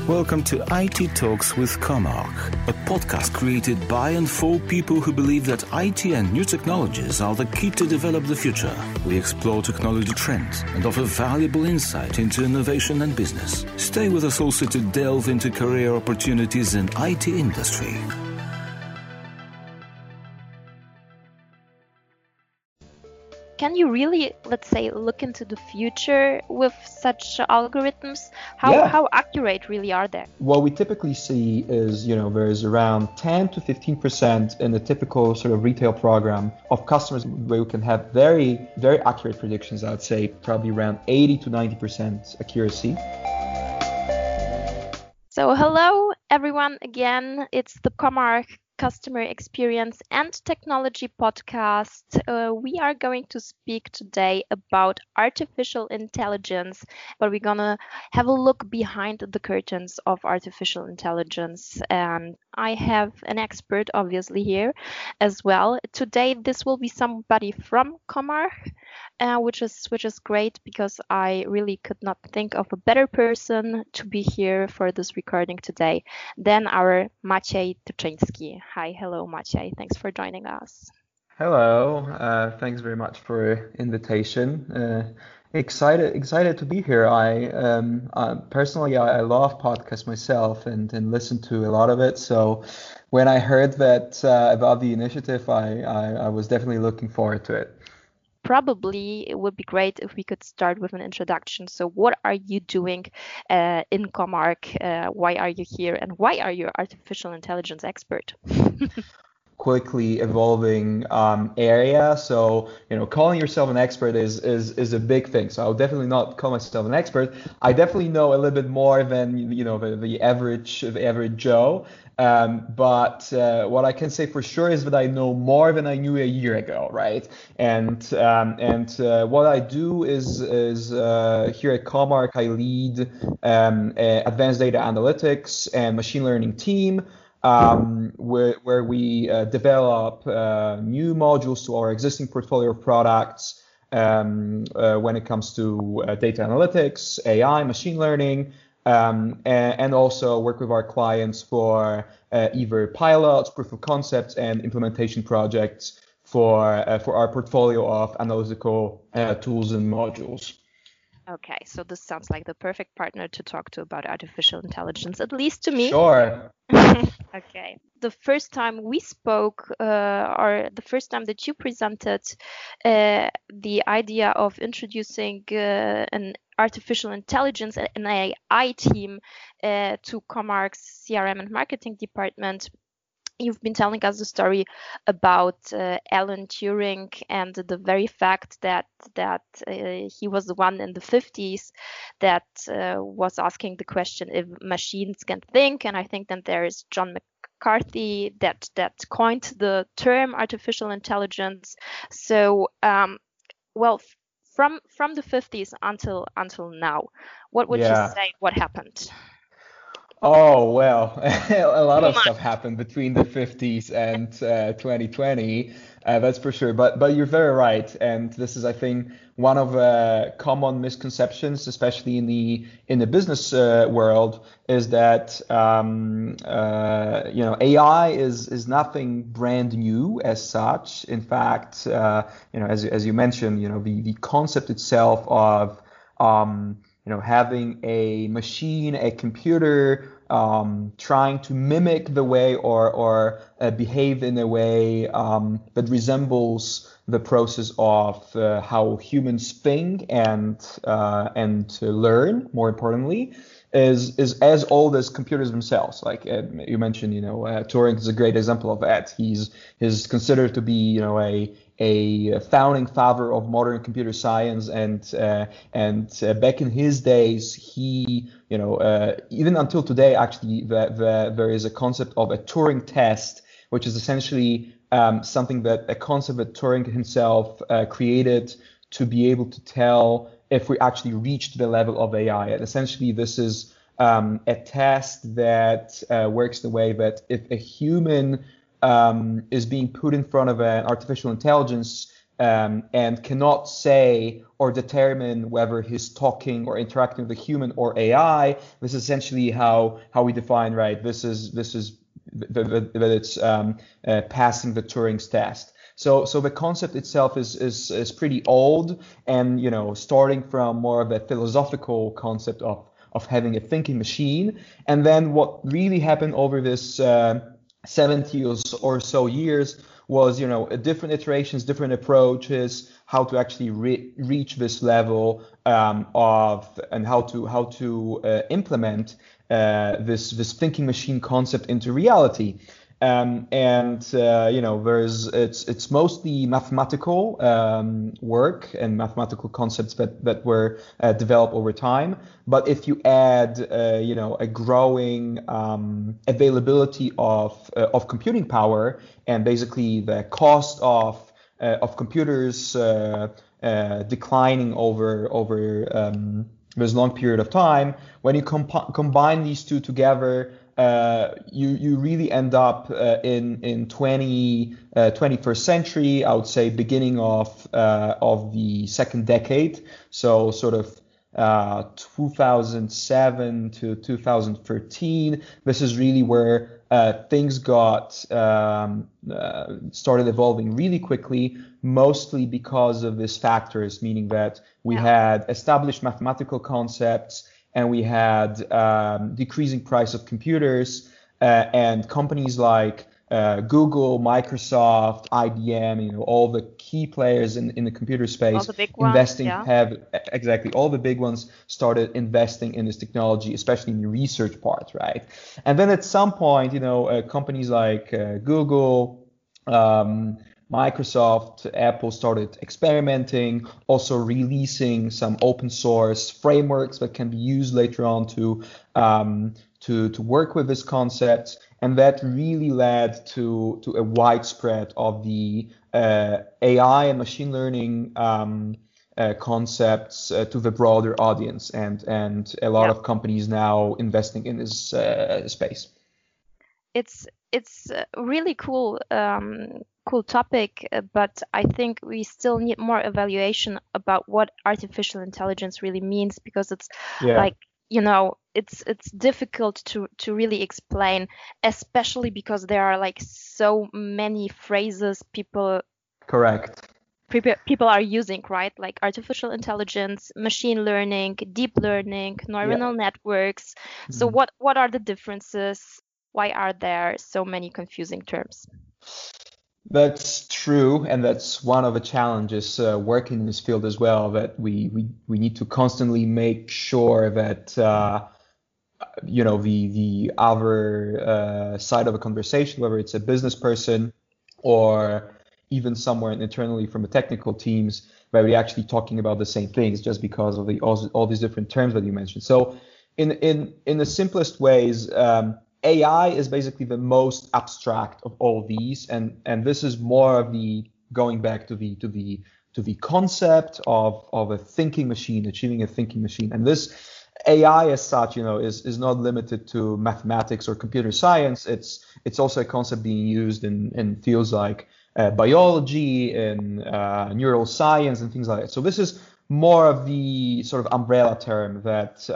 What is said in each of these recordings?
Welcome to IT Talks with Comarch, a podcast created by and for people who believe that IT and new technologies are the key to develop the future. We explore technology trends and offer valuable insight into innovation and business. Stay with us also to delve into career opportunities in IT industry. Can you really, let's say, look into the future with such algorithms? How accurate really are they? What we typically see is, there's around 10 to 15% in the typical sort of retail program of customers where you can have very, very accurate predictions. I'd say probably around 80 to 90% accuracy. So hello, everyone. Again, it's the Comarch Customer Experience and Technology podcast. We are going to speak today about artificial intelligence, but we're gonna have a look behind the curtains of artificial intelligence. And I have an expert obviously here as well. Today, this will be somebody from Comarch, which is great because I really could not think of a better person to be here for this recording today than our Maciej Tuczyński. Hi, hello Maciej. Thanks for joining us. Hello. Thanks very much for invitation. Excited to be here. I personally I love podcasts myself and listen to a lot of it. So when I heard that about the initiative, I was definitely looking forward to it. Probably it would be great if we could start with an introduction. So what are you doing in Comarch? Why are you here? And why are you an artificial intelligence expert? Quickly evolving area. So, calling yourself an expert is a big thing. So I'll definitely not call myself an expert. I definitely know a little bit more than, the average Joe. But what I can say for sure is that I know more than I knew a year ago, right? And what I do is here at Comarch, I lead advanced data analytics and machine learning team. Where we develop new modules to our existing portfolio of products when it comes to data analytics, AI, machine learning, and also work with our clients for either pilots, proof of concepts, and implementation projects for our portfolio of analytical tools and modules. Okay, so this sounds like the perfect partner to talk to about artificial intelligence, at least to me. Sure. Okay. The first time we spoke, or the first time that you presented the idea of introducing an artificial intelligence and AI team to Comarch's CRM and marketing department, you've been telling us the story about Alan Turing and the very fact that he was the one in the 50s that was asking the question if machines can think. And I think that there is John McCarthy that coined the term artificial intelligence. So, from the 50s until now, what would you say? What happened? Oh, well, a lot of stuff happened between the 50s and 2020, that's for sure. But you're very right. And this is, I think, one of common misconceptions, especially in the business world, is that, AI is nothing brand new as such. In fact, as you mentioned, the concept itself of, having a machine, a computer, trying to mimic the way or behave in a way that resembles the process of how humans think and learn, more importantly, is as old as computers themselves. Like you mentioned, Turing is a great example of that. He's considered to be, a founding father of modern computer science, and back in his days, he, even until today, actually, there is a concept of a Turing test, which is essentially something that a concept that Turing himself created to be able to tell if we actually reached the level of AI. And essentially, this is a test that works the way that if a human is being put in front of an artificial intelligence, and cannot say or determine whether he's talking or interacting with a human or AI. This is essentially how we define, right? This is that it's passing the Turing's test. So the concept itself is pretty old, and starting from more of a philosophical concept of having a thinking machine. And then what really happened over this 70 or so years was, different iterations, different approaches, how to actually reach this level of, and how to implement this thinking machine concept into reality. It's mostly mathematical work and mathematical concepts that were developed over time. But if you add, a growing availability of computing power, and basically the cost of computers declining over this long period of time, when you combine these two together, you really end up in 21st century, I would say beginning of the second decade, so sort of 2007 to 2013. This is really where things got started evolving really quickly, mostly because of these factors, meaning that we had established mathematical concepts, and we had decreasing price of computers, and companies like Google, Microsoft, IBM, all the key players in the computer space, all the big ones, exactly, all the big ones started investing in this technology, especially in the research part, right? And then at some point, companies like Google, Microsoft, Apple started experimenting, also releasing some open source frameworks that can be used later on to work with this concept. And that really led to a widespread of the AI and machine learning concepts to the broader audience, and a lot of companies now investing in this space. It's really cool topic, but I think we still need more evaluation about what artificial intelligence really means, because it's like, it's difficult to really explain, especially because there are like so many phrases people are using, right? Like artificial intelligence, machine learning, deep learning, neuronal networks. So what are the differences? Why are there so many confusing terms? That's true, and that's one of the challenges working in this field as well, that we need to constantly make sure that the other side of a conversation, whether it's a business person or even somewhere internally from the technical teams, where we're actually talking about the same things, just because of all these different terms that you mentioned. So in the simplest ways, AI is basically the most abstract of all these, and this is more of the going back to the concept of a thinking machine, achieving a thinking machine. And this AI as such, is not limited to mathematics or computer science. It's also a concept being used in fields like biology and neural science and things like that. So this is more of the sort of umbrella term that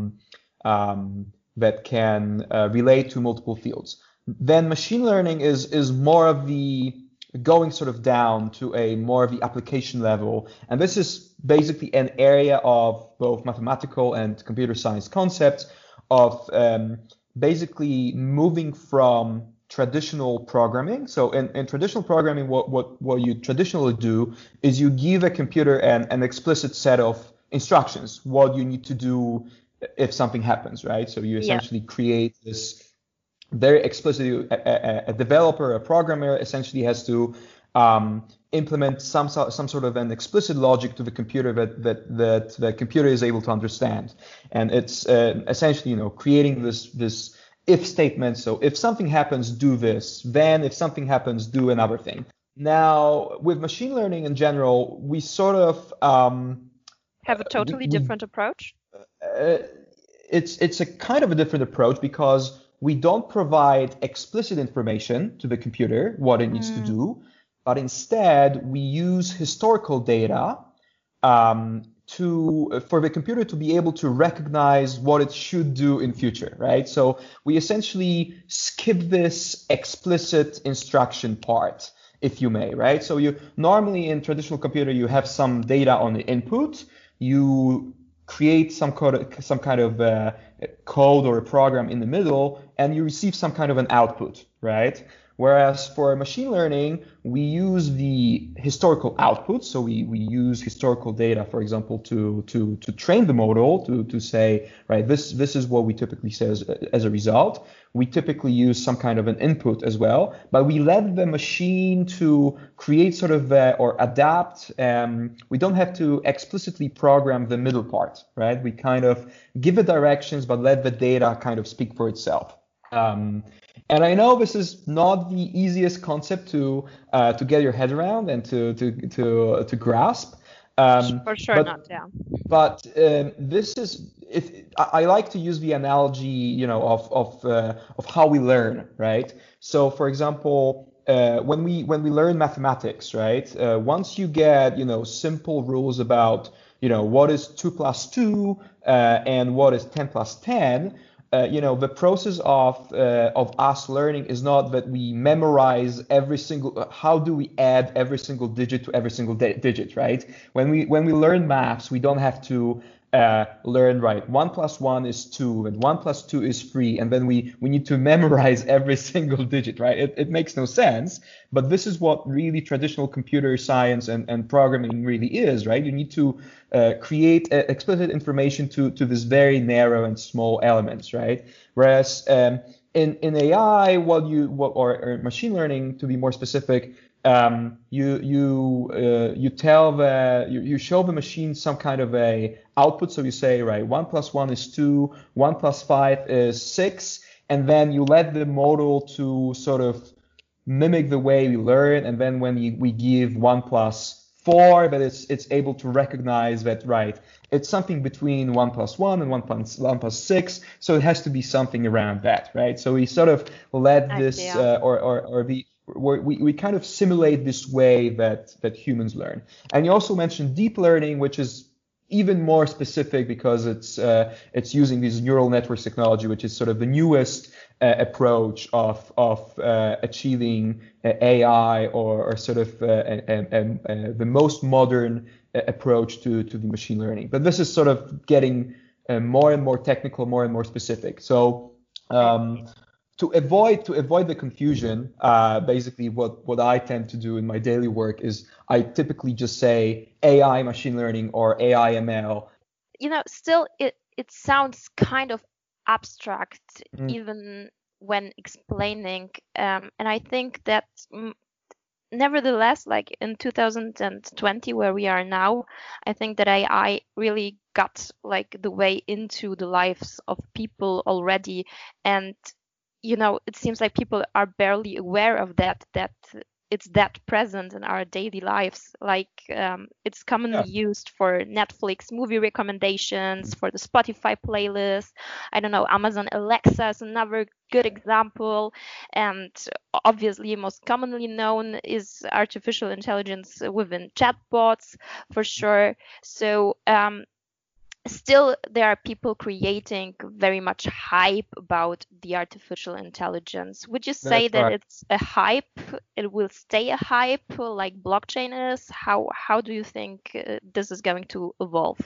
can relate to multiple fields. Then machine learning is more of the going sort of down to a more of the application level. And this is basically an area of both mathematical and computer science concepts of basically moving from traditional programming. So in traditional programming, what you traditionally do is you give a computer an explicit set of instructions, what you need to do if something happens, right? So you essentially create this very explicitly, a developer, a programmer essentially has to implement some sort of an explicit logic to the computer that the computer is able to understand. And it's essentially, creating this if statement. So if something happens, do this. Then if something happens, do another thing. Now, with machine learning in general, we sort of have a totally different approach. It's a kind of a different approach, because we don't provide explicit information to the computer what it needs to do, but instead we use historical data for the computer to be able to recognize what it should do in future, right? So we essentially skip this explicit instruction part, if you may, right? So you normally in traditional computer you have some data on the input, you create some kind of code or a program in the middle, and you receive some kind of an output, right? Whereas for machine learning, we use the historical output. So we use historical data, for example, to train the model to say, right, this is what we typically say as a result. We typically use some kind of an input as well, but we let the machine to create sort of or adapt. We don't have to explicitly program the middle part, right? We kind of give it directions, but let the data kind of speak for itself. And I know this is not the easiest concept to get your head around and to grasp. For sure not, yeah. But this is, I like to use the analogy, you know, of how we learn, right? So, for example, when we learn mathematics, right? Once you get, you know, simple rules about, you know, what is 2 plus 2 and what is 10 plus 10. You know, the process of us learning is not that we memorize every single, how do we add every single digit to every single digit, right? When we learn maths, we don't have to learn, right, 1 plus 1 is 2 and 1 plus 2 is 3, and then we need to memorize every single digit, right? It makes no sense, but this is what really traditional computer science and programming really is, right? You need to create explicit information to this very narrow and small elements, right? Whereas in AI, or machine learning, to be more specific, you show the machine some kind of a output. So you say, right, 1 plus 1 is 2, 1 plus 5 is 6, and then you let the model to sort of mimic the way we learn. And then when we give 1 plus 4, but it's able to recognize that, right, it's something between 1 plus 1 and 1 plus 6, so it has to be something around that, right? So we sort of let this we kind of simulate this way that humans learn. And you also mentioned deep learning, which is even more specific because it's using this neural networks technology, which is sort of the newest approach of achieving AI or sort of the most modern approach to the machine learning. But this is sort of getting more and more technical, more and more specific. So to avoid the confusion, basically what I tend to do in my daily work is I typically just say AI machine learning or AI ML. You know, still it sounds kind of abstract even when explaining, and I think that nevertheless, like in 2020 where we are now, I think that AI really got like the way into the lives of people already, and you know, it seems like people are barely aware of that it's that present in our daily lives. Like it's commonly used for Netflix movie recommendations, for the Spotify playlist. I don't know, Amazon Alexa is another good example. And obviously most commonly known is artificial intelligence within chatbots, for sure. So still there are people creating very much hype about the artificial intelligence. Would you say that it's a hype? It will stay a hype like blockchain is? How do you think this is going to evolve?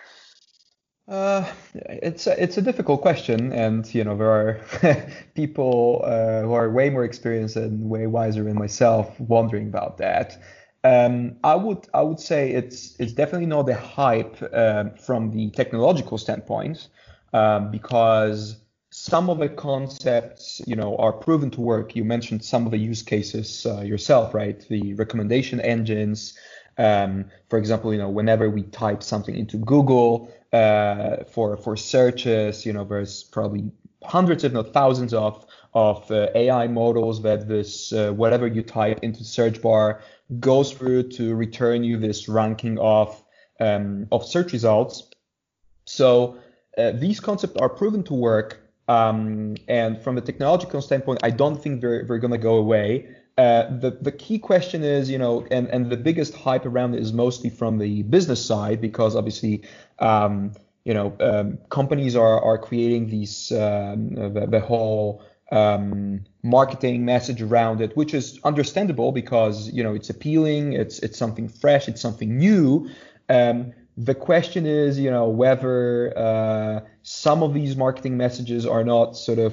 It's a difficult question, and you know there are people who are way more experienced and way wiser than myself wondering about that. I would say it's definitely not a hype from the technological standpoint, because some of the concepts, you know, are proven to work. You mentioned some of the use cases yourself, right? The recommendation engines. For example, you know, whenever we type something into Google for searches, you know, there's probably hundreds, if not thousands, of AI models that this whatever you type into the search bar goes through to return you this ranking of search results. So these concepts are proven to work, and from a technological standpoint, I don't think they're going to go away. The key question is, and the biggest hype around it is mostly from the business side, because obviously, companies are creating these the whole marketing message around it, which is understandable because it's appealing, it's something fresh, it's something new. The question is, whether some of these marketing messages are not sort of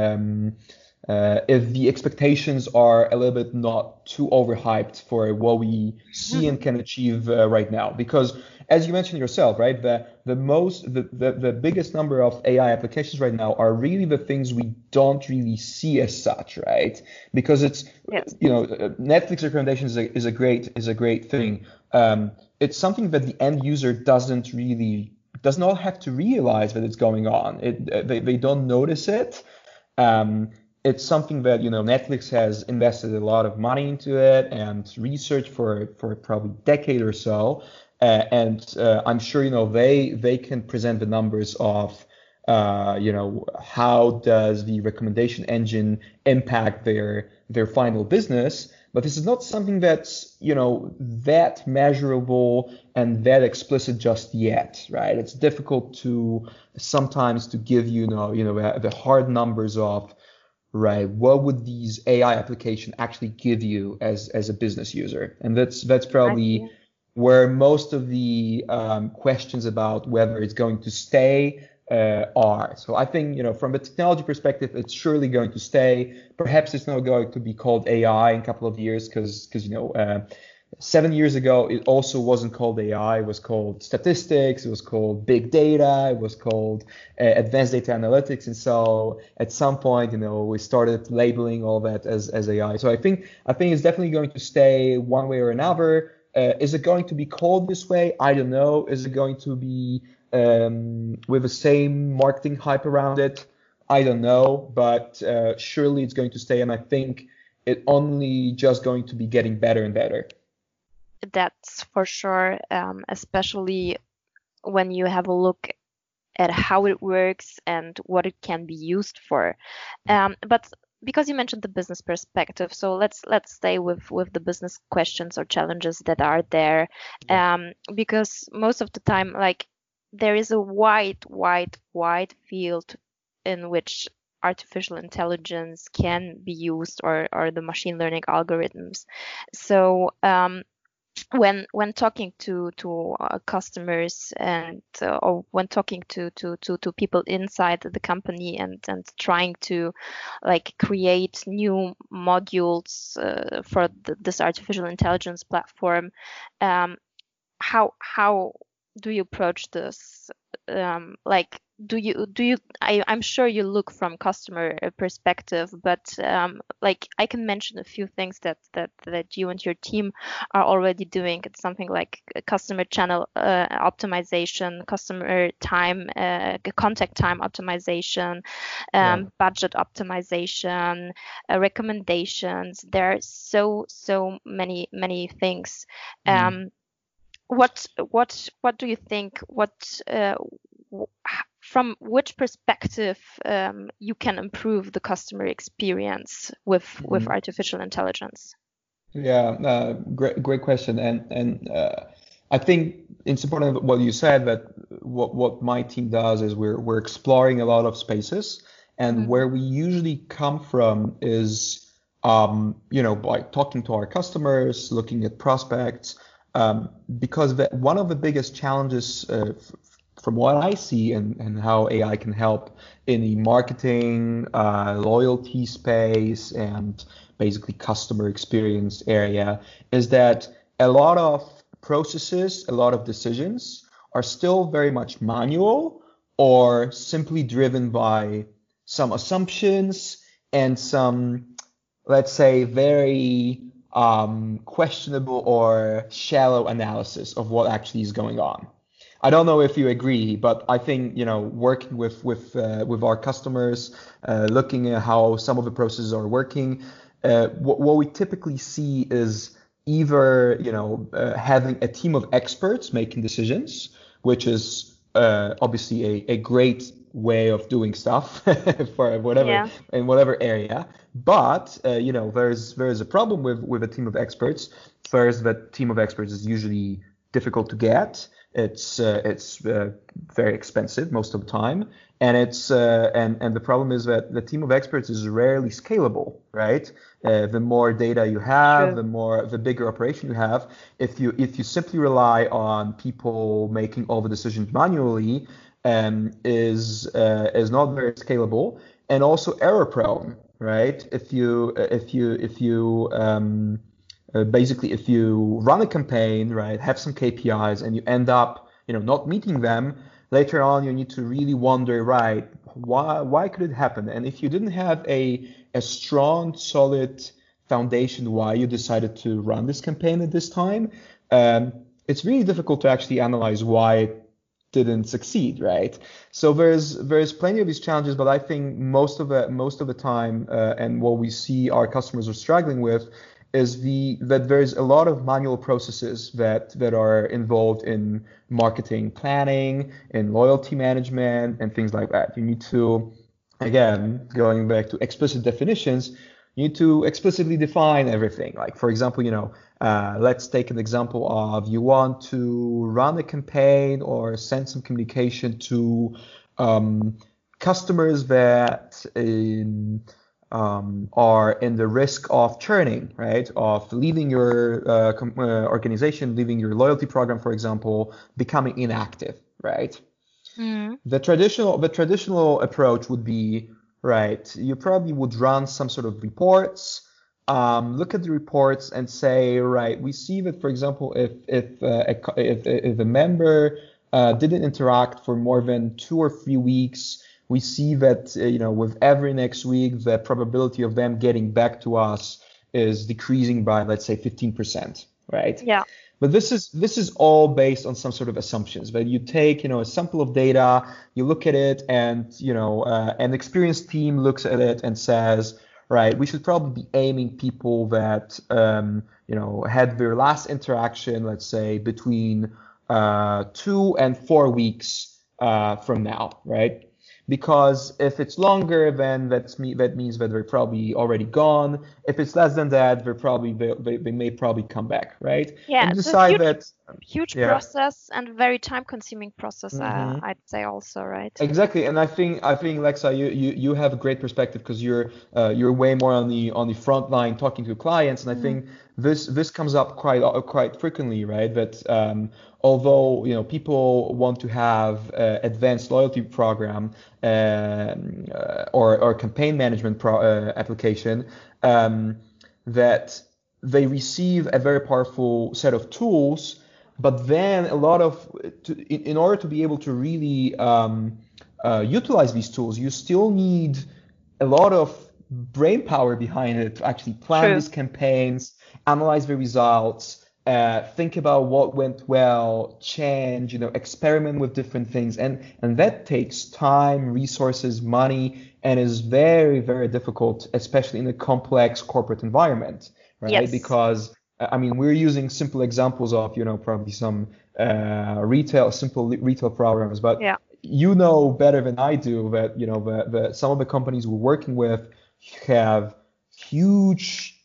if the expectations are a little bit not too overhyped for what we see and can achieve right now. Because as you mentioned yourself, right, the biggest number of AI applications right now are really the things we don't really see as such, right? Because it's Netflix recommendations is a great thing. It's something that the end user does not have to realize that it's going on. They don't notice it. It's something that Netflix has invested a lot of money into it and research for probably a decade or so, and I'm sure they can present the numbers of how does the recommendation engine impact their final business. But this is not something that's that measurable and that explicit just yet, right? It's difficult sometimes to give the hard numbers of, right, what would these AI application actually give you as a business user? And that's probably where most of the questions about whether it's going to stay are. So I think, from a technology perspective, it's surely going to stay. Perhaps it's not going to be called AI in a couple of years because 7 years ago, it also wasn't called AI. It was called statistics. It was called big data. It was called advanced data analytics. And so at some point, we started labeling all that as AI. So I think it's definitely going to stay one way or another. Is it going to be called this way? I don't know. Is it going to be with the same marketing hype around it? I don't know. But surely it's going to stay. And I think it only just going to be getting better and better. That's for sure, especially when you have a look at how it works and what it can be used for. But because you mentioned the business perspective, so let's stay with the business questions or challenges that are there, because most of the time, like, there is a wide field in which artificial intelligence can be used, or the machine learning algorithms. So when talking to customers and or when talking to people inside the company and trying to create new modules for this artificial intelligence platform, how do you approach this? I'm sure you look from customer perspective, but I can mention a few things that you and your team are already doing. It's something like customer channel optimization, customer time, contact time optimization, budget optimization, recommendations. There are so many things. What do you think? From which perspective you can improve the customer experience with artificial intelligence? Yeah, great question, and I think it's important what you said, that what my team does is we're exploring a lot of spaces, and where we usually come from is by talking to our customers, looking at prospects, because one of the biggest challenges from what I see and how AI can help in the marketing, loyalty space, and basically customer experience area is that a lot of processes, a lot of decisions are still very much manual or simply driven by some assumptions and some, let's say, very questionable or shallow analysis of what actually is going on. I don't know if you agree, but I think working with our customers, looking at how some of the processes are working, what we typically see is either having a team of experts making decisions, which is obviously a great way of doing stuff for whatever Yeah. in whatever area. But there's a problem with a team of experts. First, that team of experts is usually difficult to get. It's very expensive most of the time, and the problem is that the team of experts is rarely scalable, right? The more data you have, True. the bigger operation you have. If you simply rely on people making all the decisions manually, is not very scalable and also error prone, right? Basically, if you run a campaign, right, have some KPIs, and you end up, not meeting them, later on you need to really wonder, right, why could it happen? And if you didn't have a strong, solid foundation why you decided to run this campaign at this time, it's really difficult to actually analyze why it didn't succeed, right? So there's plenty of these challenges, but I think most of the time, and what we see our customers are struggling with is that there's a lot of manual processes that are involved in marketing planning, in loyalty management, and things like that. You need to, again, going back to explicit definitions, you need to explicitly define everything. Like, for example, let's take an example of you want to run a campaign or send some communication to customers that are in the risk of churning, right? Of leaving your organization, leaving your loyalty program, for example, becoming inactive, right? Mm. The traditional approach would be, right, you probably would run some sort of reports, look at the reports and say, right, we see that, for example, if a member didn't interact for more than 2 or 3 weeks, we see that with every next week, the probability of them getting back to us is decreasing by, let's say, 15%, right? Yeah. But this is all based on some sort of assumptions. That you take a sample of data, you look at it, and an experienced team looks at it and says, right, we should probably be aiming people that had their last interaction, let's say, between 2 and 4 weeks from now, right? Because if it's longer, then that means that they're probably already gone. If it's less than that, they may probably come back, right? Yeah, And it's a decide huge yeah. process and very time-consuming process. Mm-hmm. I'd say also, right? Exactly, and I think Lexa, you have a great perspective because you're way more on the front line talking to clients, and I think this comes up quite frequently, right? That although people want to have advanced loyalty program or campaign management application, that they receive a very powerful set of tools. But then in order to be able to really utilize these tools, you still need a lot of brain power behind it to actually plan these campaigns, analyze the results, think about what went well, change, experiment with different things. And that takes time, resources, money, and is very, very difficult, especially in a complex corporate environment, right? Yes. Because we're using simple examples of, probably some simple retail programs, but better than I do that, some of the companies we're working with have huge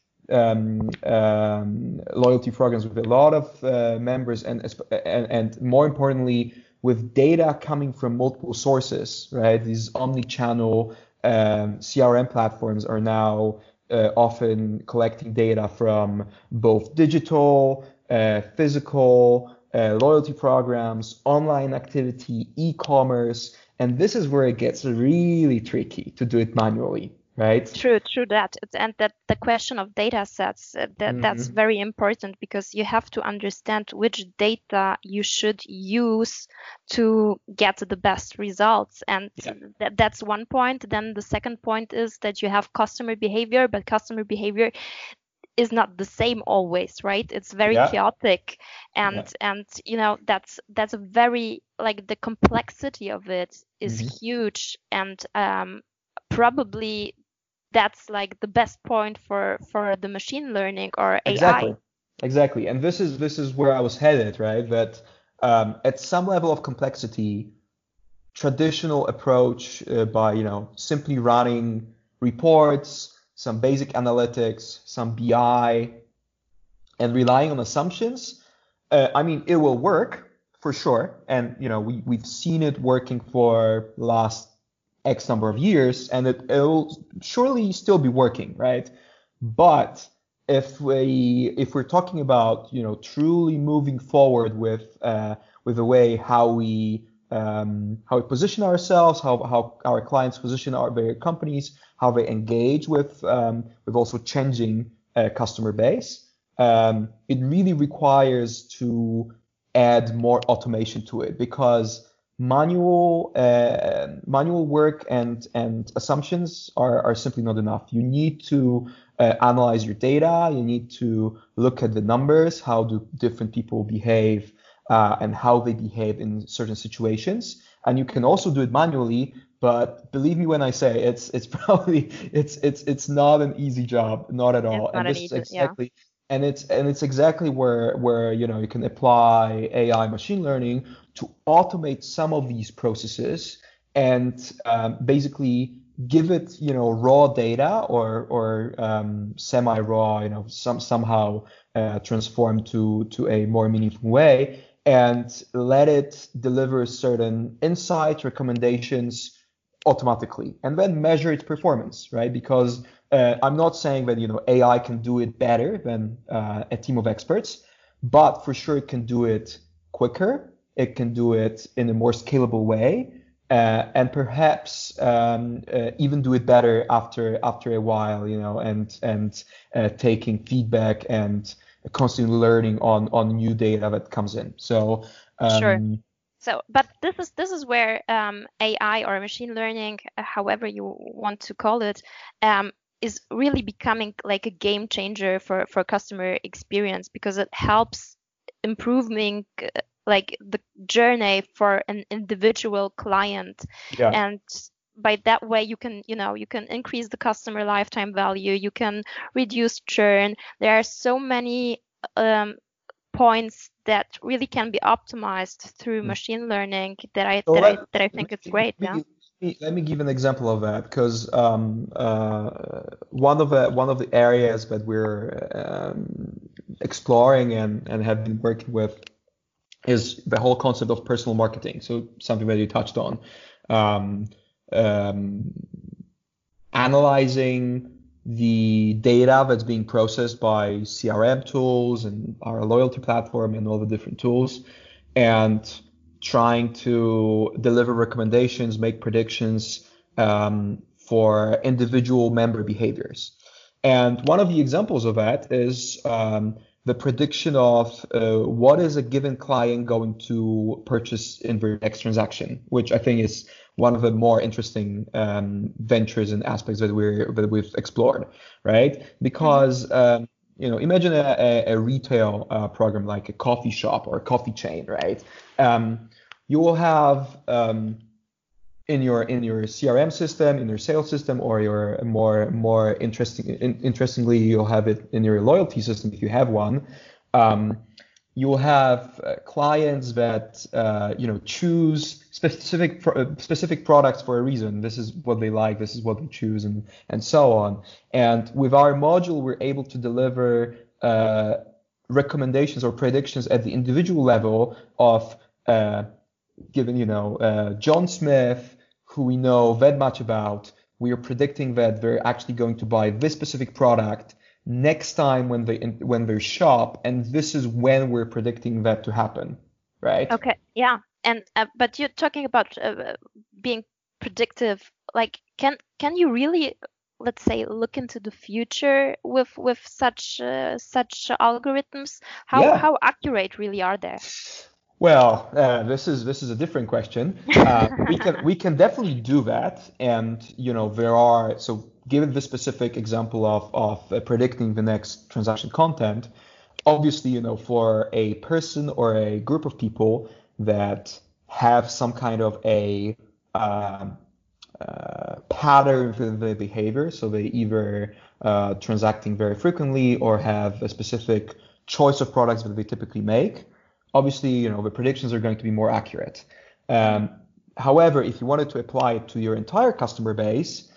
loyalty programs with a lot of members and more importantly, with data coming from multiple sources, right? These omni-channel CRM platforms are now often collecting data from both digital, physical, loyalty programs, online activity, e-commerce, and this is where it gets really tricky to do it manually, right? True that. And that the question of data sets, that's very important because you have to understand which data you should use to get the best results. And that's one point. Then the second point is that you have customer behavior, but customer behavior is not the same always, right? It's very chaotic, and that's a very, like, the complexity of it is huge, and probably that's like the best point for the machine learning or AI. Exactly. And this is where I was headed, right? That at some level of complexity, traditional approach by simply running reports, some basic analytics, some BI, and relying on assumptions, it will work for sure. And we've seen it working for the last X number of years, and it'll surely still be working, right? But if we're talking about truly moving forward with the way how we position ourselves, how our clients position their companies, how they engage with also changing customer base, it really requires to add more automation to it, because manual work and assumptions are simply not enough. You need to analyze your data. You need to look at the numbers. How do different people behave, and how they behave in certain situations? And you can also do it manually. But believe me when I say it's probably it's not an easy job, not at all. And this is exactly. And it's exactly where you can apply AI, machine learning, to automate some of these processes and basically give it raw data or semi-raw, somehow transformed to a more meaningful way, and let it deliver certain insights, recommendations automatically, and then measure its performance, right? Because I'm not saying that AI can do it better than a team of experts, but for sure it can do it quicker. It can do it in a more scalable way, and perhaps even do it better after a while, and taking feedback and constantly learning on new data that comes in. So sure. So, but this is where AI or machine learning, however you want to call it, is really becoming like a game changer for customer experience, because it helps improving like the journey for an individual client. Yeah. And by that way you can increase the customer lifetime value, you can reduce churn. There are so many points that really can be optimized through machine learning that I think it's great. Let me give an example of that, because one of the areas that we're exploring and have been working with is the whole concept of personal marketing. So something that you touched on, analyzing the data that's being processed by CRM tools and our loyalty platform and all the different tools, and trying to deliver recommendations, make predictions for individual member behaviors. And one of the examples of that is the prediction of what is a given client going to purchase in their next transaction, which I think is one of the more interesting ventures and aspects that we've explored, right? Because imagine a retail program like a coffee shop or a coffee chain, right? You will have in your CRM system, in your sales system, or your more interestingly, you'll have it in your loyalty system if you have one. You'll have clients that choose specific products for a reason. This is what they like, this is what they choose, and so on. And with our module, we're able to deliver recommendations or predictions at the individual level of given John Smith, who we know that much about. We are predicting that they're actually going to buy this specific product next time when they shop, and this is when we're predicting that to happen, right? Okay, yeah. And but you're talking about being predictive. Like, can you really, let's say, look into the future with such algorithms? How accurate really are they? Well, this is a different question. We can definitely do that, and there are, so given the specific example of predicting the next transaction content, obviously for a person or a group of people that have some kind of a pattern in their behavior, so they either transacting very frequently or have a specific choice of products that they typically make. Obviously, the predictions are going to be more accurate. However, if you wanted to apply it to your entire customer base,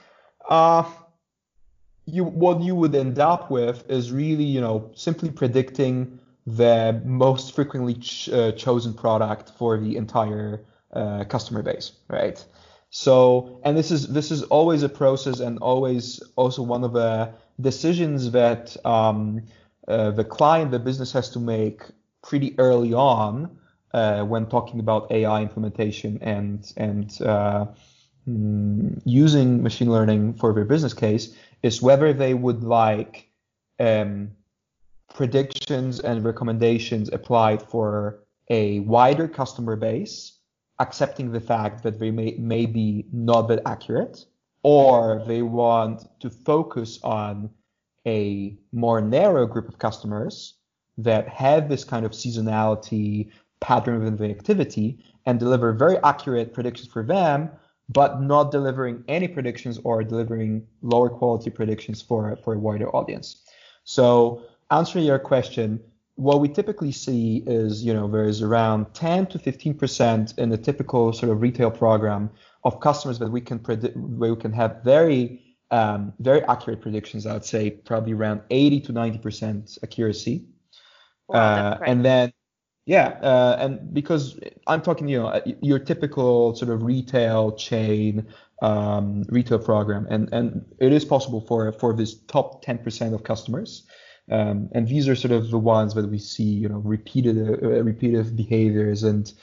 what you would end up with is really, simply predicting the most frequently chosen product for the entire customer base, right? So, and this is always a process, and always also one of the decisions that the client, the business, has to make pretty early on when talking about AI implementation and using machine learning for their business case, is whether they would like predictions and recommendations applied for a wider customer base, accepting the fact that they may be not that accurate, or they want to focus on a more narrow group of customers that have this kind of seasonality pattern of the activity and deliver very accurate predictions for them, but not delivering any predictions or delivering lower quality predictions for a wider audience. So answering your question, what we typically see is, there's around 10 to 15% in the typical sort of retail program of customers that we can predict, where we can have very accurate predictions. I would say probably around 80 to 90% accuracy. Wow, that's great. And then, and because I'm talking, your typical sort of retail chain, retail program, and it is possible for this top 10% of customers. And these are sort of the ones that we see, repeated behaviors and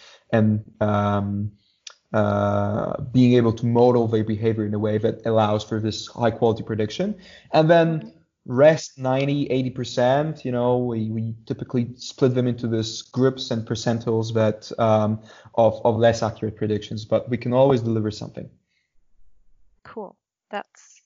being able to model their behavior in a way that allows for this high quality prediction. And then rest 90-80%, we typically split them into these groups and percentiles that of less accurate predictions, but we can always deliver something. Cool. That's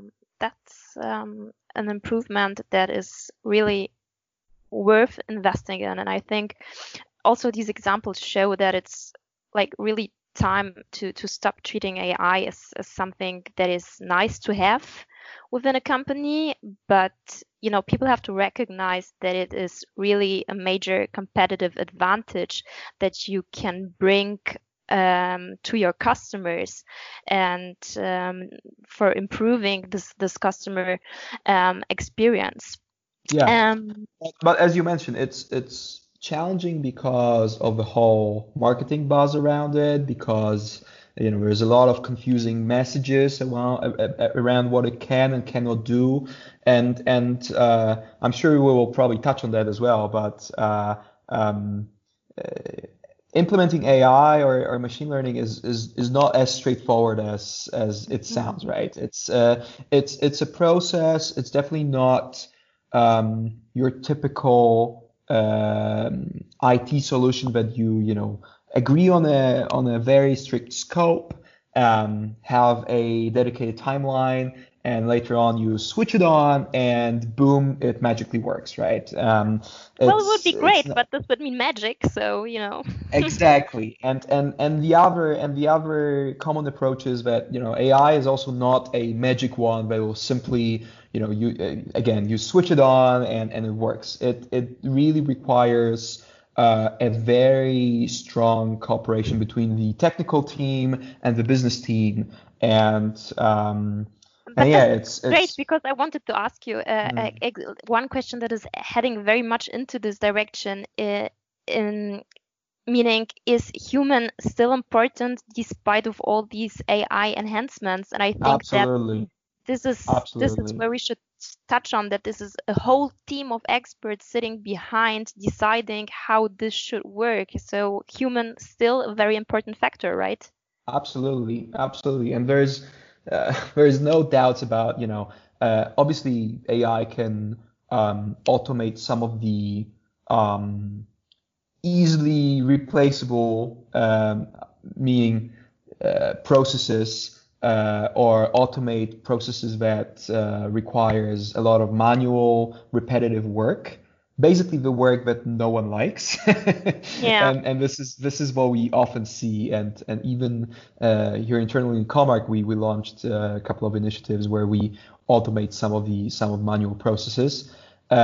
an improvement that is really worth investing in. And I think also these examples show that it's like really time to stop treating AI as something that is nice to have within a company, but people have to recognize that it is really a major competitive advantage that you can bring to your customers, and for improving this customer experience. Yeah. But as you mentioned, it's challenging because of the whole marketing buzz around it, because there's a lot of confusing messages around what it can and cannot do, and I'm sure we will probably touch on that as well. But implementing AI or machine learning is not as straightforward as it sounds, right? It's a process. It's definitely not your typical IT solution that you agree on a very strict scope, have a dedicated timeline, and later on you switch it on and boom, it magically works, right? Well, it would be great, but this would mean magic, so Exactly. And the other common approach is that AI is also not a magic wand that will simply you switch it on and it works. It really requires a very strong cooperation between the technical team and the business team, and it's great, because I wanted to ask you one question that is heading very much into this direction, meaning, is human still important despite of all these AI enhancements? And I think Absolutely. This is where we should touch on that. This is a whole team of experts sitting behind deciding how this should work. So human still a very important factor, right? Absolutely. And there's no doubts about, obviously AI can automate some of the easily replaceable, meaning processes, or automate processes that requires a lot of manual, repetitive work. Basically, the work that no one likes. Yeah. And this is what we often see. And even here internally in Comarch, we launched a couple of initiatives where we automate some of manual processes.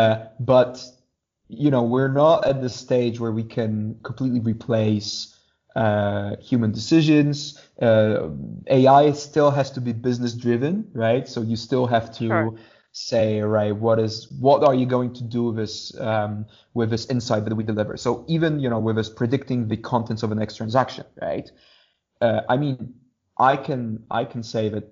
But we're not at the stage where we can completely replace human decisions. AI still has to be business driven, right? So you still have to Sure. say, right, what are you going to do with this insight that we deliver? So even, with us predicting the contents of the next transaction, right? I mean, I can say that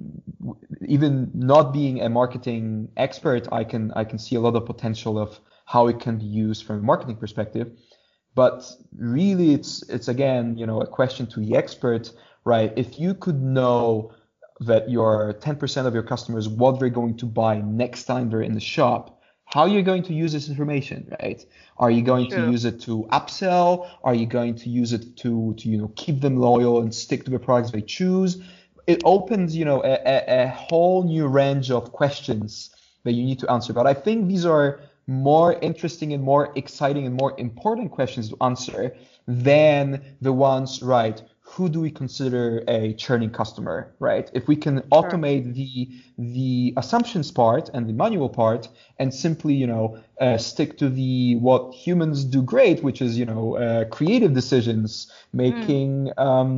even not being a marketing expert, I can see a lot of potential of how it can be used from a marketing perspective. But really, it's again, a question to the expert, right? If you could know that your 10% of your customers, what they're going to buy next time they're in the shop, how are you going to use this information, right? Are you going to True. use it to upsell? Are you going to use it to keep them loyal and stick to the products they choose? It opens, a whole new range of questions that you need to answer. But I think these are more interesting and more exciting and more important questions to answer than the ones, right? Who do we consider a churning customer, right? If we can automate the assumptions part and the manual part and simply, stick to what humans do great, which is, creative decisions, making,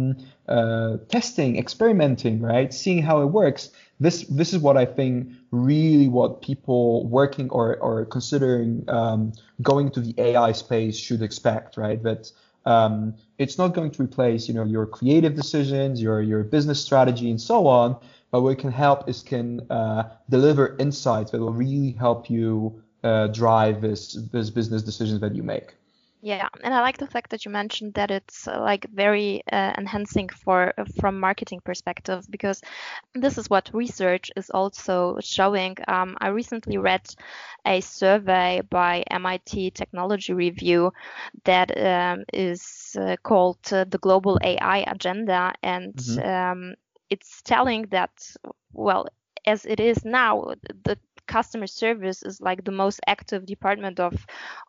testing, experimenting, right? Seeing how it works. This is what I think really what people working or considering going to the AI space should expect, right? That it's not going to replace, your creative decisions, your business strategy, and so on. But what it can help is deliver insights that will really help you drive this business decisions that you make. Yeah, and I like the fact that you mentioned that it's like very enhancing from marketing perspective, because this is what research is also showing. I recently read a survey by MIT Technology Review that is called the Global AI Agenda, and it's telling that, well, as it is now, the customer service is like the most active department of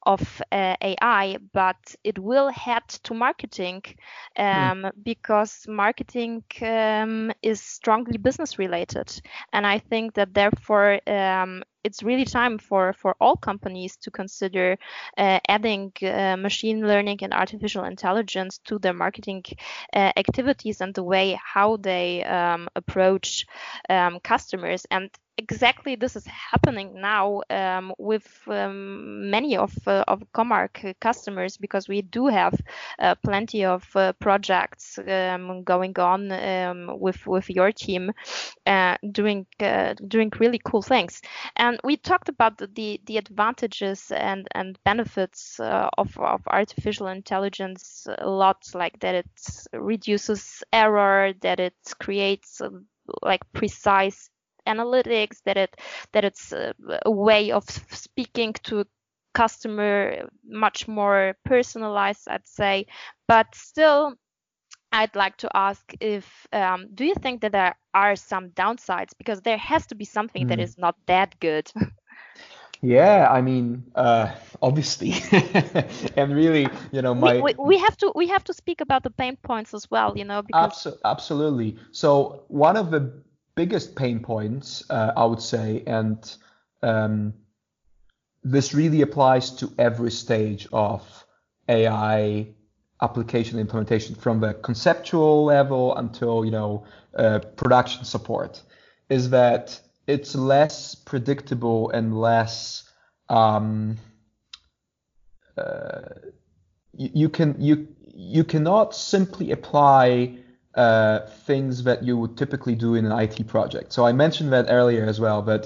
AI, but it will head to marketing because marketing is strongly business related, and I think that therefore it's really time for all companies to consider adding machine learning and artificial intelligence to their marketing activities and the way how they approach customers. And exactly this is happening now with many of Comarch customers, because we do have plenty of projects going on with your team doing really cool things. And we talked about the advantages and benefits of artificial intelligence a lot, like that it reduces error, that it creates like precise analytics, that it's a way of speaking to customer much more personalized, I'd say. But still, I'd like to ask if do you think that there are some downsides, because there has to be something that is not that good. Yeah, I mean, obviously, and really, we have to speak about the pain points as well, because absolutely. So one of the biggest pain points, I would say, and this really applies to every stage of AI application implementation, from the conceptual level until production support, is that it's less predictable and less you cannot simply apply things that you would typically do in an IT project. So I mentioned that earlier as well, but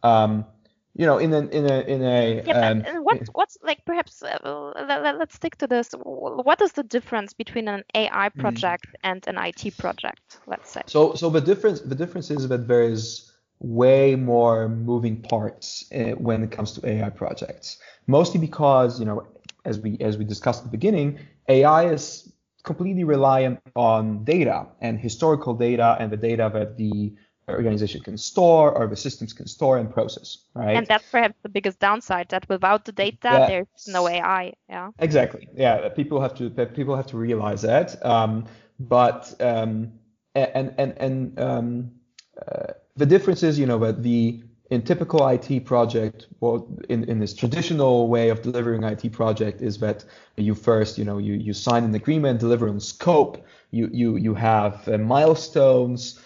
what's like, perhaps let's stick to this. What is the difference between an AI project and an IT project, let's say? So the difference is that there is way more moving parts when it comes to AI projects, mostly because as we discussed at the beginning, AI is completely reliant on data and historical data and the data that the organization can store or the systems can store and process, right? And that's perhaps the biggest downside, that without the data, there's no AI. Yeah. Exactly. Yeah, people have to realize that. The difference is, that in typical IT project, well, in this traditional way of delivering IT project is that you first, you sign an agreement, deliver on scope, you have milestones,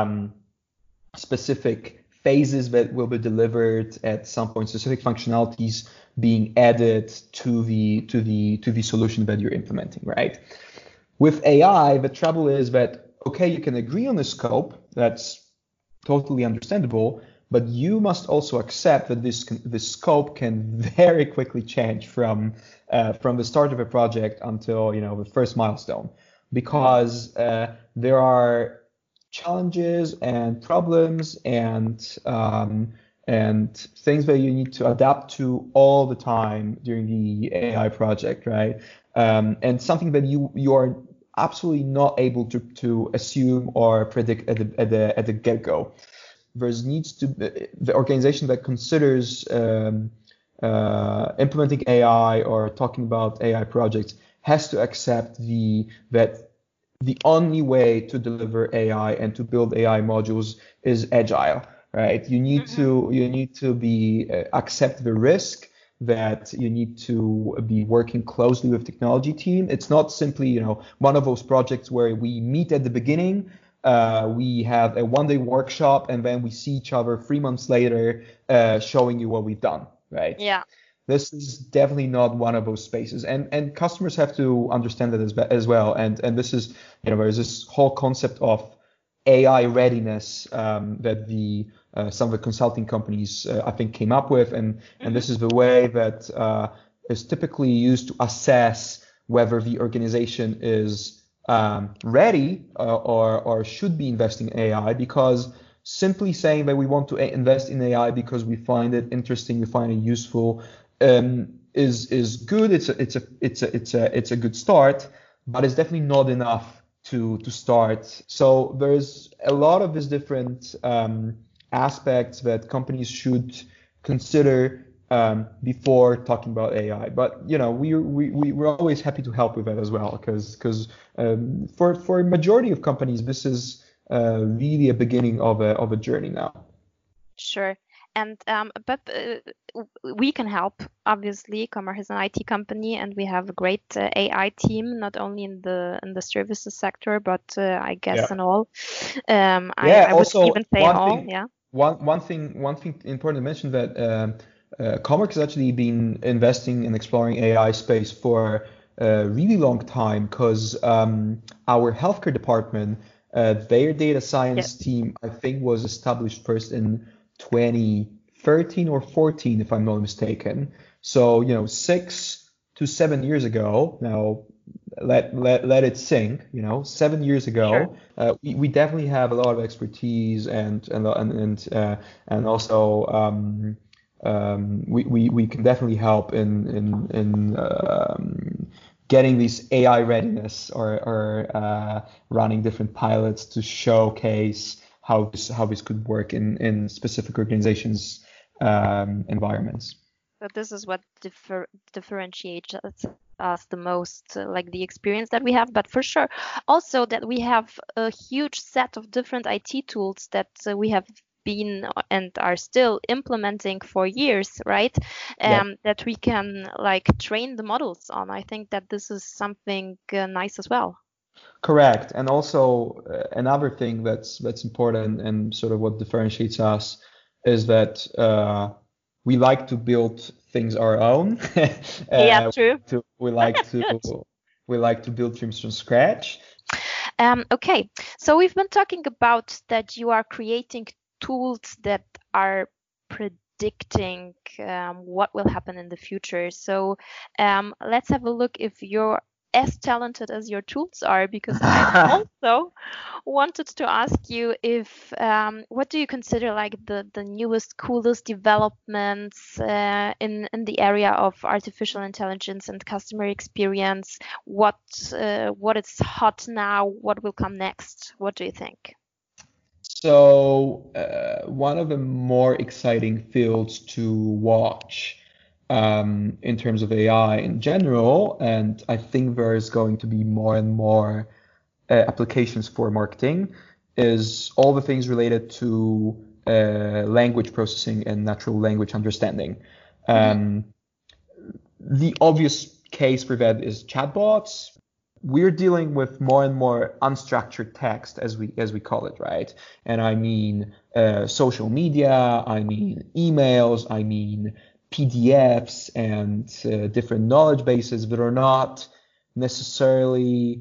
specific phases that will be delivered at some point, specific functionalities being added to the solution that you're implementing, right? With AI, the trouble is that, okay, you can agree on the scope, that's totally understandable, but you must also accept that this scope can very quickly change from the start of a project until the first milestone, because there are challenges and problems and things that you need to adapt to all the time during the AI project, right? And something that you are absolutely not able to assume or predict at the get-go. There needs to be the organization that considers implementing AI or talking about AI projects has to accept that the only way to deliver AI and to build AI modules is agile, right? You need to be accept the risk, that you need to be working closely with technology team. It's not simply one of those projects where we meet at the beginning, we have a one-day workshop, and then we see each other 3 months later, showing you what we've done, right? Yeah. This is definitely not one of those spaces, and customers have to understand that as well. And this is, there's this whole concept of AI readiness that some of the consulting companies I think came up with, and this is the way that is typically used to assess whether the organization is ready or should be investing in AI, because simply saying that we want to invest in AI because we find it interesting, we find it useful, is good. It's a good start, but it's definitely not enough to start. So there's a lot of these different aspects that companies should consider before talking about AI. But we're always happy to help with that as well, because for a majority of companies, this is really a beginning of a journey now. Sure. And but we can help. Obviously, Comarch is an IT company, and we have a great AI team, not only in the services sector, but I guess in all. I would even say all. Yeah. One thing important to mention, that Comarch has actually been investing and exploring AI space for a really long time, because our healthcare department, their data science team, I think, was established first in 2013 or 14, if I'm not mistaken. So 6 to 7 years ago. Now let it sink. 7 years ago, sure. We definitely have a lot of expertise and also we can definitely help in getting this AI readiness or running different pilots to showcase how this could work in specific organizations' environments. So this is what differentiates us the most, like the experience that we have, but for sure also that we have a huge set of different IT tools that we have been and are still implementing for years, right? That we can train the models on. I think that this is something nice as well. Correct. And also another thing that's important and sort of what differentiates us is that we like to build things our own. True. We like to build things from scratch. Okay, so we've been talking about that you are creating tools that are predicting what will happen in the future. So let's have a look if you're as talented as your tools are, because I also wanted to ask you if what do you consider like the newest, coolest developments in the area of artificial intelligence and customer experience? What is hot now? What will come next? What do you think? So one of the more exciting fields to watch in terms of AI in general, and I think there's going to be more and more applications for marketing, is all the things related to language processing and natural language understanding. The obvious case for that is chatbots. We're dealing with more and more unstructured text, as we call it, right? And I mean social media, I mean emails, I mean PDFs and different knowledge bases that are not necessarily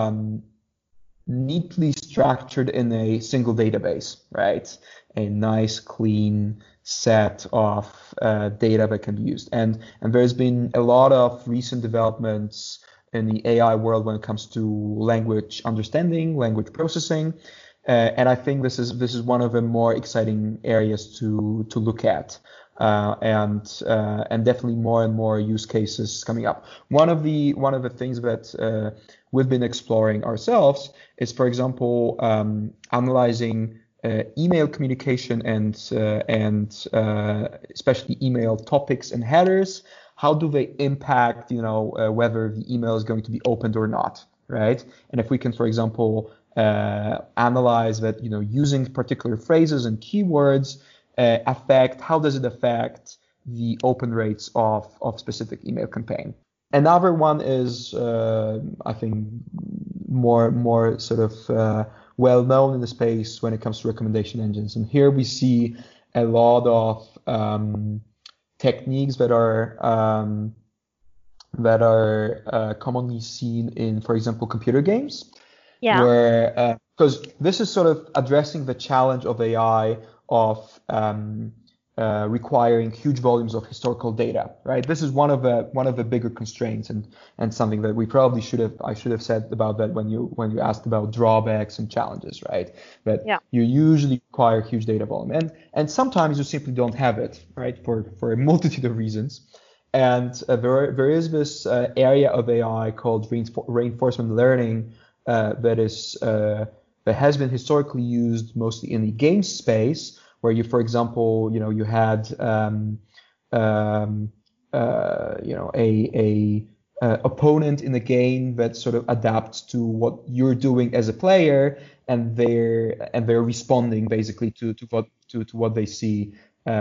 neatly structured in a single database, right? A nice, clean set of data that can be used. And there's been a lot of recent developments in the AI world when it comes to language understanding, language processing. And I think this is one of the more exciting areas to look at. And definitely more and more use cases coming up. One of the things that we've been exploring ourselves is, for example, analyzing email communication and especially email topics and headers. How do they impact, whether the email is going to be opened or not, right? And if we can, for example, analyze that, using particular phrases and keywords, how does it affect the open rates of specific email campaign? Another one is, I think, more sort of well known in the space when it comes to recommendation engines. And here we see a lot of techniques that are commonly seen in, for example, computer games. Yeah. Where because this is sort of addressing the challenge of AI of requiring huge volumes of historical data, right? This is one of the bigger constraints, and something that I should have said about that when you asked about drawbacks and challenges, right? That you usually require huge data volume, and sometimes you simply don't have it, right? For a multitude of reasons. And there is this area of AI called reinforcement learning that has been historically used mostly in the game space, where you, for example, you had a opponent in the game that sort of adapts to what you're doing as a player, and they're responding basically to what they see.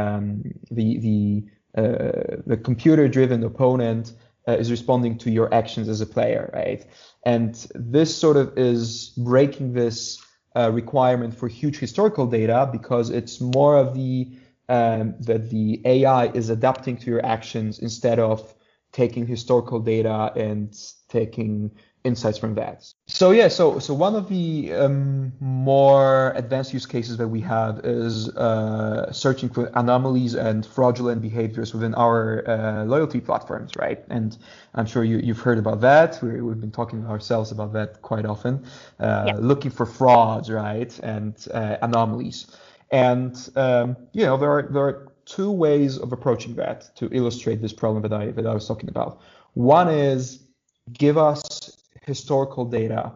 The computer-driven opponent is responding to your actions as a player, right? And this sort of is breaking this requirement for huge historical data, because it's more of that the AI is adapting to your actions instead of taking historical data and taking insights from that. So one of the more advanced use cases that we have is searching for anomalies and fraudulent behaviors within our loyalty platforms, right? And I'm sure you've heard about that. We've been talking ourselves about that quite often, looking for frauds, right, and anomalies. And there are two ways of approaching that to illustrate this problem that I was talking about. One is give us historical data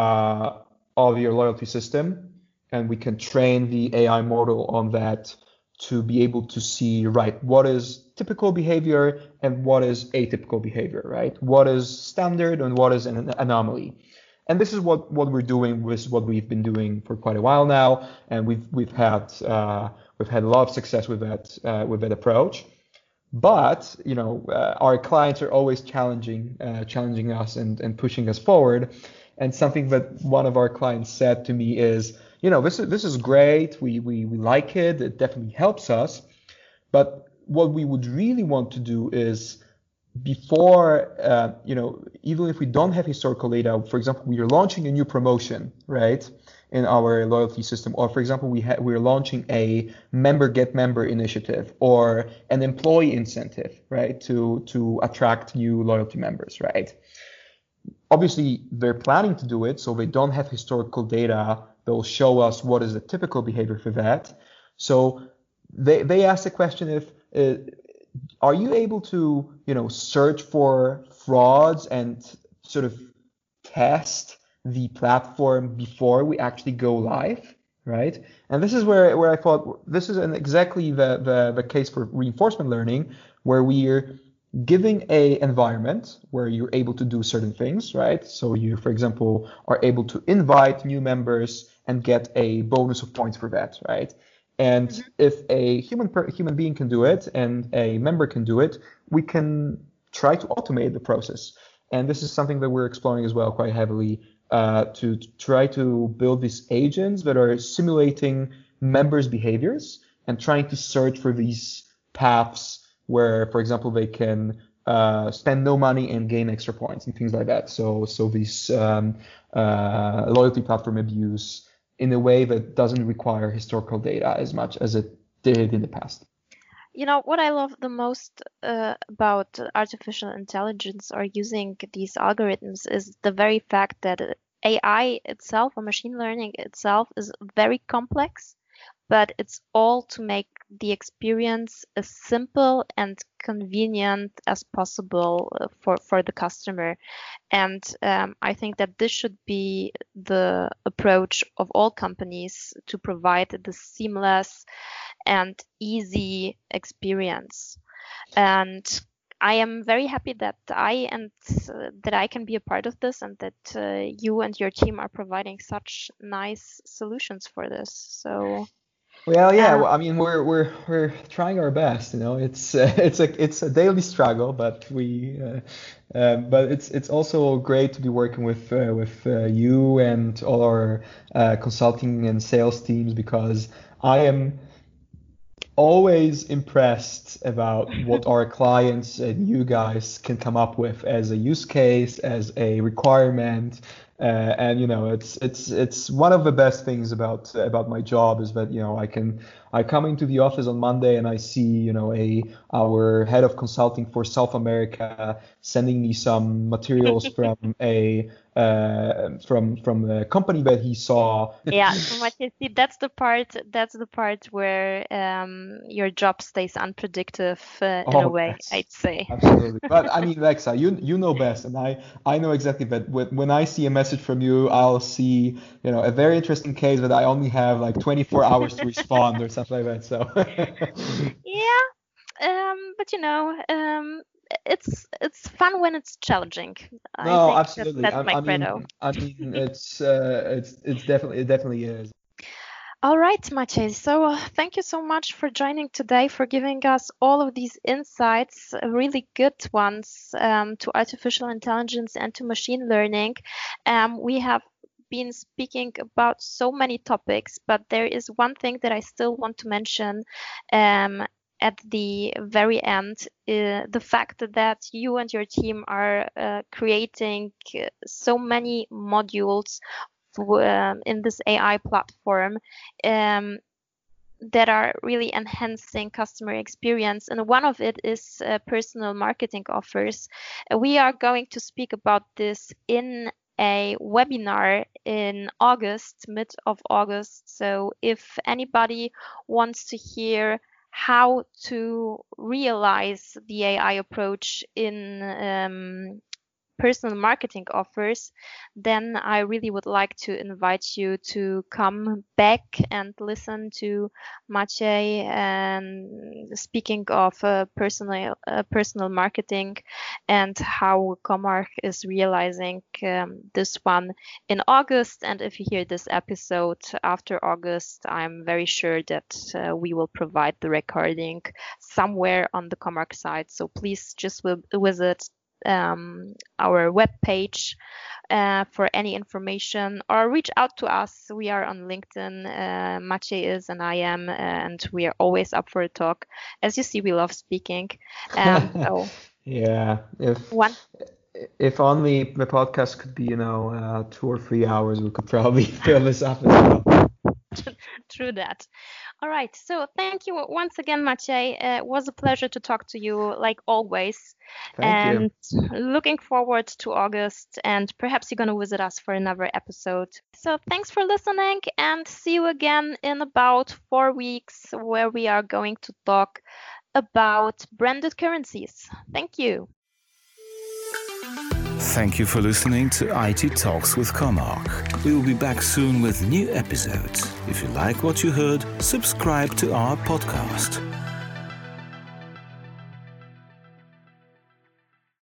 of your loyalty system, and we can train the AI model on that to be able to see, right, what is typical behavior and what is atypical behavior, right? What is standard and what is an anomaly. And this is what we're doing with what we've been doing for quite a while now, and we've had a lot of success with that approach. But our clients are always challenging us and pushing us forward. And something that one of our clients said to me is, this is great. We like it. It definitely helps us. But what we would really want to do is, before even if we don't have historical data, for example, we are launching a new promotion, right, in our loyalty system, or for example, we're launching a member get member initiative or an employee incentive, right, to attract new loyalty members, right? Obviously, they're planning to do it, so they don't have historical data that will show us what is the typical behavior for that. So they ask the question if are you able to search for frauds and sort of test the platform before we actually go live, right? And this is where I thought this is exactly the case for reinforcement learning, where we're giving a environment where you're able to do certain things, right? So you, for example, are able to invite new members and get a bonus of points for that, right? And if a human being can do it and a member can do it, we can try to automate the process. And this is something that we're exploring as well quite heavily, to try to build these agents that are simulating members' behaviors and trying to search for these paths where, for example, they can spend no money and gain extra points and things like that. So this loyalty platform abuse in a way that doesn't require historical data as much as it did in the past. You know, what I love the most about artificial intelligence or using these algorithms is the very fact that AI itself, or machine learning itself, is very complex, but it's all to make the experience as simple and convenient as possible for the customer. And I think that this should be the approach of all companies, to provide the seamless and easy experience. And I am very happy that I can be a part of this, and that you and your team are providing such nice solutions for this. So. Well, yeah. Well, I mean, we're trying our best. You know, it's a daily struggle, but but it's also great to be working with you and all our consulting and sales teams, because I am always impressed about what our clients and you guys can come up with as a use case, as a requirement. And you know, it's one of the best things about my job is that, you know, I come into the office on Monday and I see, you know, our head of consulting for South America sending me some materials from a company that he saw. Yeah, see, that's the part where your job stays unpredictable in a way, I'd say. Absolutely. But I mean, Lexa, you know best, and I know exactly that when I see a message from you, I'll see, you know, a very interesting case that I only have like 24 hours to respond or something like that. So. Yeah, but you know, it's fun when it's challenging. No, I think absolutely. that's my credo. I mean, it's definitely is. All right, Maciej. So thank you so much for joining today, for giving us all of these insights, really good ones, to artificial intelligence and to machine learning. We have been speaking about so many topics, but there is one thing that I still want to mention at the very end, the fact that you and your team are creating so many modules in this AI platform that are really enhancing customer experience. And one of it is personal marketing offers. We are going to speak about this in a webinar in August, mid of August. So if anybody wants to hear how to realize the AI approach in personal marketing offers, then I really would like to invite you to come back and listen to Maciej speaking of personal marketing and how Comarch is realizing this one in August. And if you hear this episode after August, I'm very sure that we will provide the recording somewhere on the Comarch site. So please just visit our webpage for any information, or reach out to us. We are on LinkedIn. Maciej is and I am, and we are always up for a talk. As you see, we love speaking. So yeah, if only the podcast could be, 2 or 3 hours, we could probably fill this up as well. True that. All right. So thank you once again, Maciej. It was a pleasure to talk to you, like always. Thank you. Looking forward to August, and perhaps you're going to visit us for another episode. So thanks for listening, and see you again in about 4 weeks, where we are going to talk about branded currencies. Thank you. Thank you for listening to IT Talks with Comarch. We will be back soon with new episodes. If you like what you heard, subscribe to our podcast.